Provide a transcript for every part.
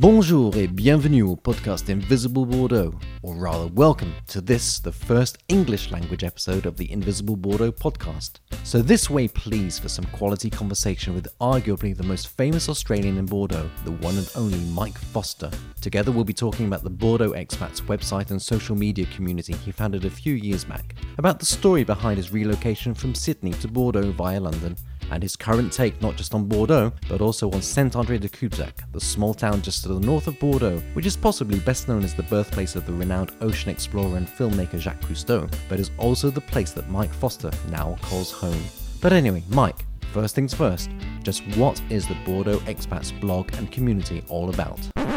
Bonjour et bienvenue au podcast Invisible Bordeaux, or rather welcome to this, the first English language episode of the Invisible Bordeaux podcast. So this way please for some quality conversation with arguably the most famous Australian in Bordeaux, the one and only Mike Foster. Together we'll be talking about the Bordeaux Expats website and social media community he founded a few years back, about the story behind his relocation from Sydney to Bordeaux via London, and his current take not just on Bordeaux, but also on Saint-André-de-Cubzac, the small town just to the north of Bordeaux, which is possibly best known as the birthplace of the renowned ocean explorer and filmmaker Jacques Cousteau, but is also the place that Mike Foster now calls home. But anyway, Mike, first things first, just what is the Bordeaux Expats blog and community all about?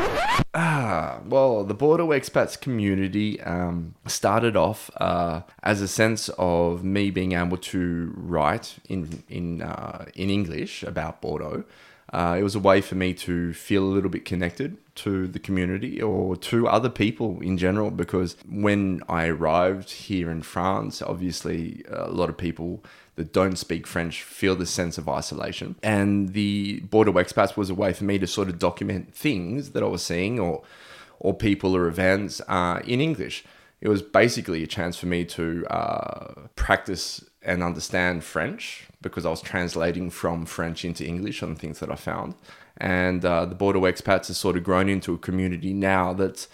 Well, the Bordeaux Expats community started off as a sense of me being able to write in English about Bordeaux. It was a way for me to feel a little bit connected to the community or to other people in general, because when I arrived here in France, obviously a lot of people that don't speak French feel this sense of isolation. And the Bordeaux Expats was a way for me to sort of document things that I was seeing or people or events in English. It was basically a chance for me to practice and understand French, because I was translating from French into English on things that I found. And the Bordeaux Expats has sort of grown into a community now that's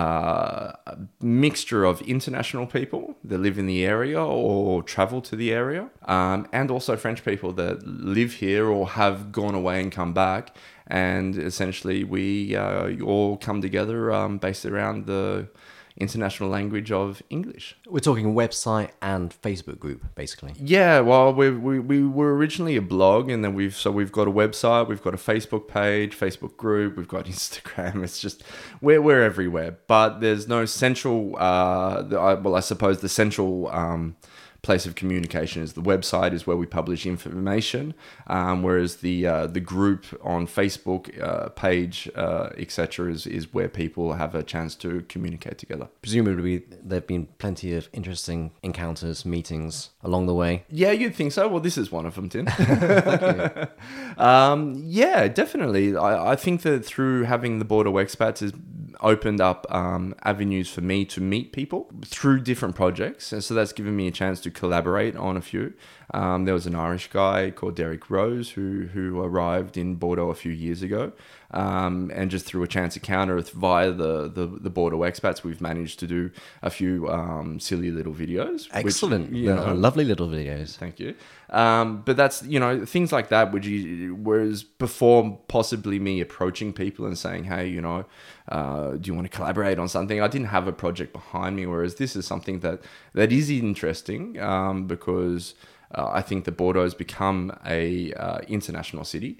a mixture of international people that live in the area or travel to the area, and also French people that live here or have gone away and come back. And essentially we all come together based around the international language of English. We're talking website and Facebook group, basically. Yeah, well, we were originally a blog, and then we've got a website, we've got a Facebook page, Facebook group, we've got Instagram. It's just we're everywhere, but there's no central. I suppose the central place of communication is the website, is where we publish information, whereas the group on Facebook page, etc., is where people have a chance to communicate together. Presumably there have been plenty of interesting encounters, meetings along the way. Yeah, you'd think so. Well, this is one of them, Tim. Thank you. Yeah, definitely. I think that through having the Bordeaux Expats has opened up avenues for me to meet people through different projects, and so that's given me a chance to collaborate on a few. There was an Irish guy called Derek Rose who arrived in Bordeaux a few years ago, and just through a chance encounter via the Bordeaux Expats, we've managed to do a few silly little videos. Excellent. Which, lovely little videos. Thank you. But that's, things like that, whereas before possibly me approaching people and saying, hey, do you want to collaborate on something? I didn't have a project behind me, whereas this is something that is interesting because I think that Bordeaux has become a international city.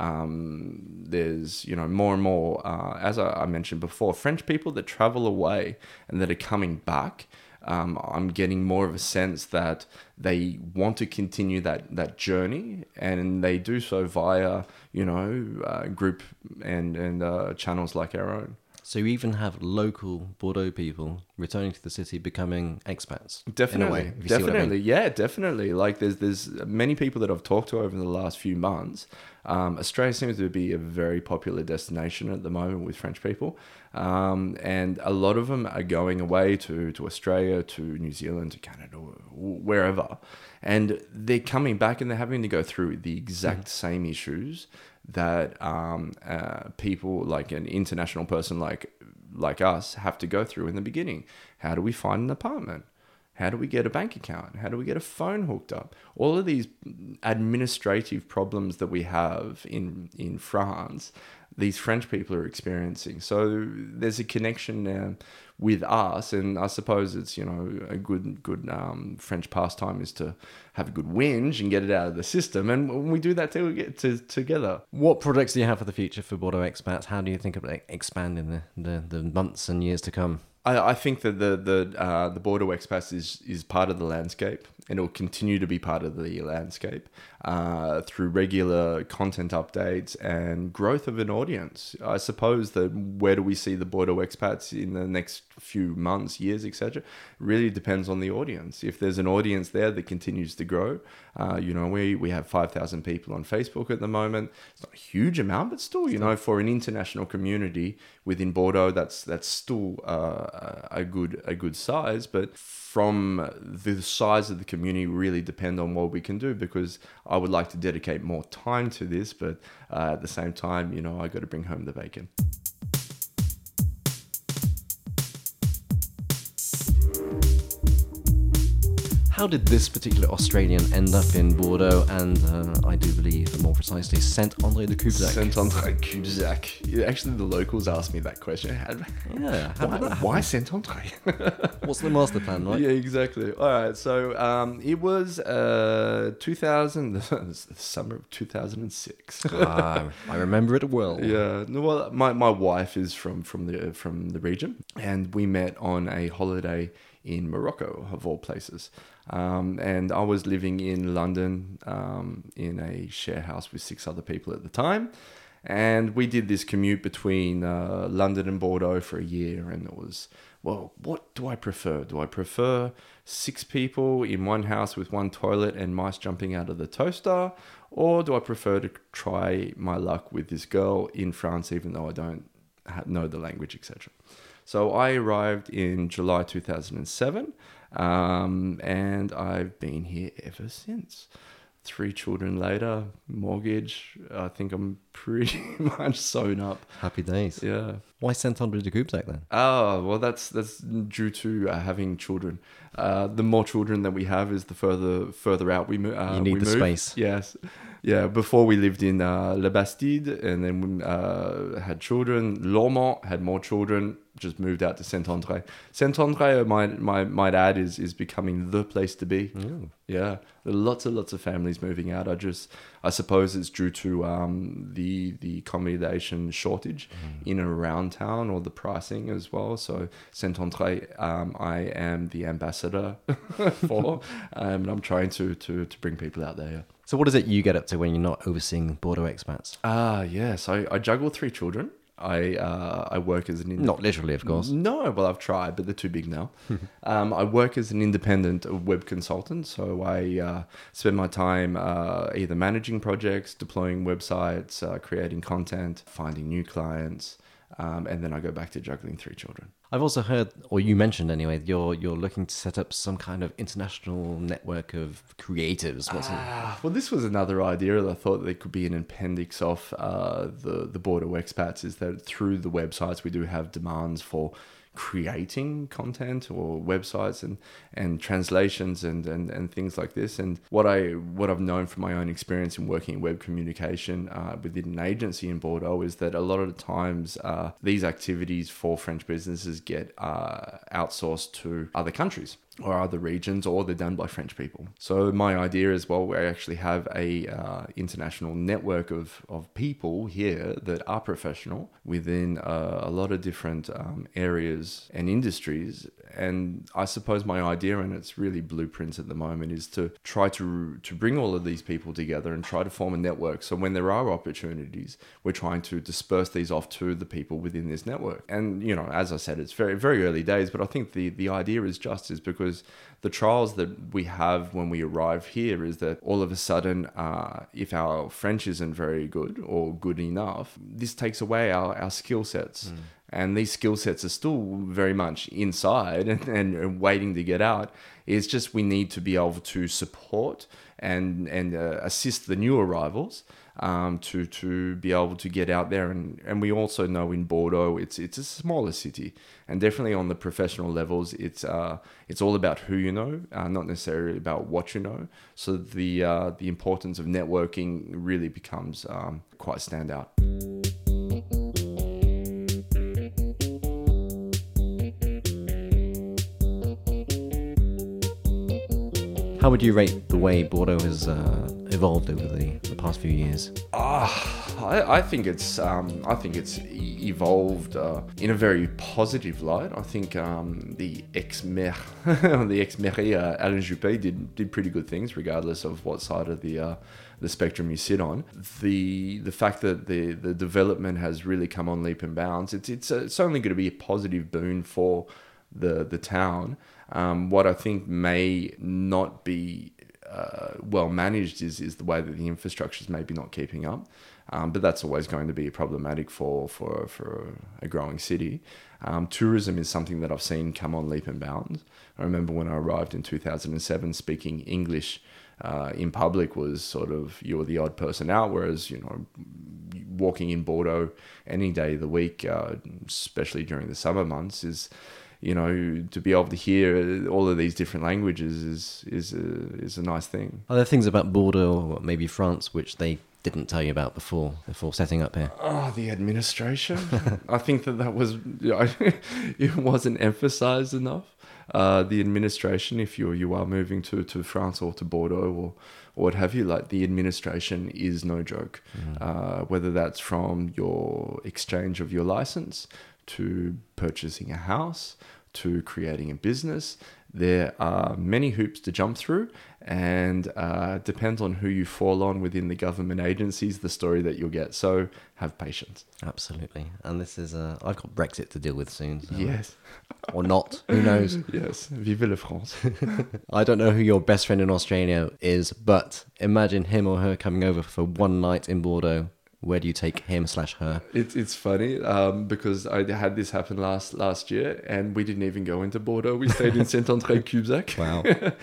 There's, more and more, as I mentioned before, French people that travel away and that are coming back. I'm getting more of a sense that they want to continue that journey, and they do so via, group and channels like our own. So you even have local Bordeaux people returning to the city, becoming expats. Definitely, in a way, if you see what I mean. Yeah, definitely. Like there's many people that I've talked to over the last few months. Australia seems to be a very popular destination at the moment with French people, and a lot of them are going away to Australia, to New Zealand, to Canada, wherever, and they're coming back and they're having to go through the exact same issues that people, like an international person like us, have to go through in the beginning. How do we find an apartment? How do we get a bank account? How do we get a phone hooked up? All of these administrative problems that we have in France, these French people are experiencing. So there's a connection with us, and I suppose it's, a good French pastime is to have a good whinge and get it out of the system, and we do that till we get together. What projects do you have for the future for Bordeaux Expats? How do you think about expanding the months and years to come? I think that the Bordeaux Expats is part of the landscape. and it will continue to be part of the landscape through regular content updates and growth of an audience. I suppose that where do we see the Bordeaux expats in the next few months, years, etc. really depends on the audience. If there's an audience there that continues to grow, we have 5,000 people on Facebook at the moment. It's not a huge amount, but still, for an international community within Bordeaux, that's still a good size. But from the size of the community really depend on what we can do, because I would like to dedicate more time to this, but at the same time, I got to bring home the bacon. How did this particular Australian end up in Bordeaux and, I do believe, more precisely, Saint-André-de-Cubzac? Saint-André-de-Cubzac. Actually, the locals asked me that question. Why Saint-André? What's the master plan, right? Yeah, exactly. All right, so it was the summer of 2006. I remember it well. Yeah. Well, my wife is from the region, and we met on a holiday in Morocco, of all places. And I was living in London in a share house with 6 other people at the time. And we did this commute between London and Bordeaux for a year. And it was, well, what do I prefer? Do I prefer 6 people in one house with one toilet and mice jumping out of the toaster? Or do I prefer to try my luck with this girl in France, even though I don't know the language, etc.? So I arrived in July 2007, and I've been here ever since. 3 children later, mortgage, I think I'm pretty much sewn up. Happy days. Yeah. Why Saint-André-de-Cubzac then? Oh, well, that's due to having children. The more children that we have is the further out we move. You need the space. Yes. Yeah, before we lived in La Bastide, and then we had children. Lormont had more children, just moved out to Saint-André. Saint-André, I might add, is becoming the place to be. Ooh. Yeah, lots of families moving out. I suppose it's due to the accommodation shortage in and around town, or the pricing as well. So Saint-André, I am the ambassador for, and I'm trying to bring people out there. Yeah. So what is it you get up to when you're not overseeing Bordeaux expats? Yes, I juggle 3 children. I work as an... Not literally, of course. No, well, I've tried, but they're too big now. I work as an independent web consultant, so I spend my time either managing projects, deploying websites, creating content, finding new clients, and then I go back to juggling 3 children. I've also heard, or you mentioned anyway, you're looking to set up some kind of international network of creatives. Well, this was another idea that I thought there could be an appendix of the Bordeaux expats, is that through the websites we do have demands for creating content or websites and translations and things like this. And what I've known from my own experience in working in web communication within an agency in Bordeaux is that a lot of the times these activities for French businesses get outsourced to other countries or other regions, or they're done by French people. So my idea is, well, we actually have a international network of people here that are professional within a lot of different areas and industries. And I suppose my idea, and it's really blueprints at the moment, is to try to bring all of these people together and try to form a network. So when there are opportunities, we're trying to disperse these off to the people within this network. And, as I said, it's very, very early days, but I think the idea is because the trials that we have when we arrive here is that all of a sudden, if our French isn't very good or good enough, this takes away our skill sets. And these skill sets are still very much inside and waiting to get out. It's just we need to be able to support and assist the new arrivals to be able to get out there. And we also know in Bordeaux, it's a smaller city. And definitely on the professional levels, it's all about who you know, not necessarily about what you know. So the importance of networking really becomes quite standout. How would you rate the way Bordeaux has evolved over the past few years? I think it's evolved in a very positive light. I think the ex-maire, Alain Juppé, did pretty good things, regardless of what side of the spectrum you sit on. The fact that the development has really come on leap and bounds, it's only going to be a positive boon for the town. What I think may not be well managed is the way that the infrastructure is maybe not keeping up. But that's always going to be problematic for a growing city. Tourism is something that I've seen come on leap and bounds. I remember when I arrived in 2007, speaking English in public was sort of, you're the odd person out, whereas, walking in Bordeaux any day of the week, especially during the summer months, is, to be able to hear all of these different languages is a nice thing. Are there things about Bordeaux or maybe France which they didn't tell you about before setting up here? Oh, the administration. I think that was, it wasn't emphasized enough. The administration, if you are moving to France or to Bordeaux or what have you, like, the administration is no joke. Whether that's from your exchange of your license to purchasing a house to creating a business, there are many hoops to jump through, and depends on who you fall on within the government agencies, the story that you'll get. So have patience. Absolutely. And this is, I've got Brexit to deal with soon. So. Yes. Or not. Who knows? Yes. Vive la France. I don't know who your best friend in Australia is, but imagine him or her coming over for one night in Bordeaux. Where do you take him/her? It's funny because I had this happen last year, and we didn't even go into Bordeaux. We stayed in Saint-André-Cubzac. Wow.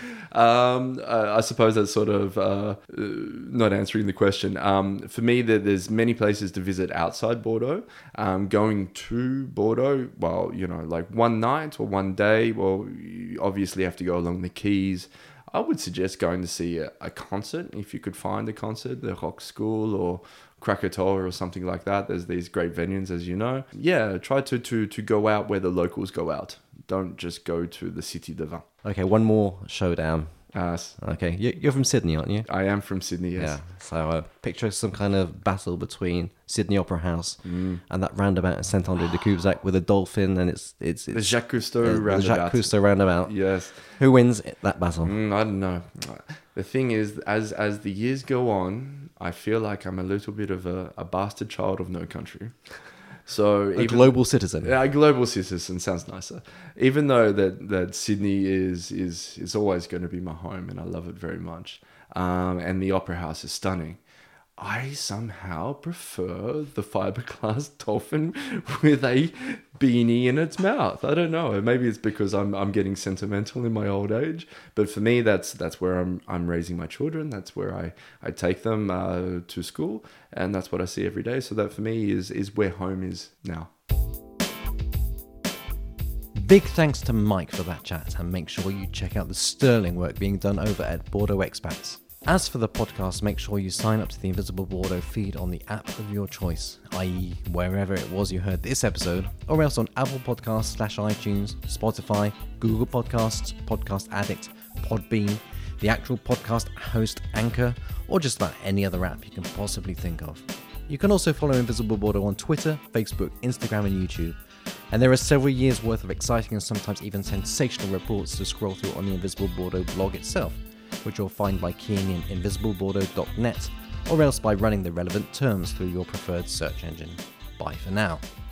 I suppose that's sort of not answering the question. For me, there's many places to visit outside Bordeaux. Going to Bordeaux, well, like one night or one day, well, you obviously have to go along the quays. I would suggest going to see a concert, if you could find a concert, the Rock School or Krakatoa or something like that. There's these great venues, as you know. Yeah, try to go out where the locals go out. Don't just go to the Cité de Vin. Okay, one more showdown. Okay, you're from Sydney, aren't you? I am from Sydney, yes. Yeah, so picture some kind of battle between Sydney Opera House and that roundabout in Saint-André-de-Cubzac with a dolphin, and it's the Jacques Cousteau roundabout. The Jacques Cousteau roundabout. Yes. Who wins that battle? I don't know. The thing is, as the years go on, I feel like I'm a little bit of a bastard child of no country. So a global citizen. Yeah, a global citizen sounds nicer. Even though that Sydney is always going to be my home, and I love it very much. And the Opera House is stunning. I somehow prefer the fiberglass dolphin with a beanie in its mouth. I don't know. Maybe it's because I'm getting sentimental in my old age. But for me, that's where I'm raising my children. That's where I take them to school, and that's what I see every day. So that for me is where home is now. Big thanks to Mike for that chat, and make sure you check out the sterling work being done over at Bordeaux Expats. As for the podcast, make sure you sign up to the Invisible Bordeaux feed on the app of your choice, i.e. wherever it was you heard this episode, or else on Apple Podcasts / iTunes, Spotify, Google Podcasts, Podcast Addict, Podbean, the actual podcast host Anchor, or just about any other app you can possibly think of. You can also follow Invisible Bordeaux on Twitter, Facebook, Instagram and YouTube. And there are several years worth of exciting and sometimes even sensational reports to scroll through on the Invisible Bordeaux blog itself, which you'll find by keying in invisiblebordeaux.net, or else by running the relevant terms through your preferred search engine. Bye for now.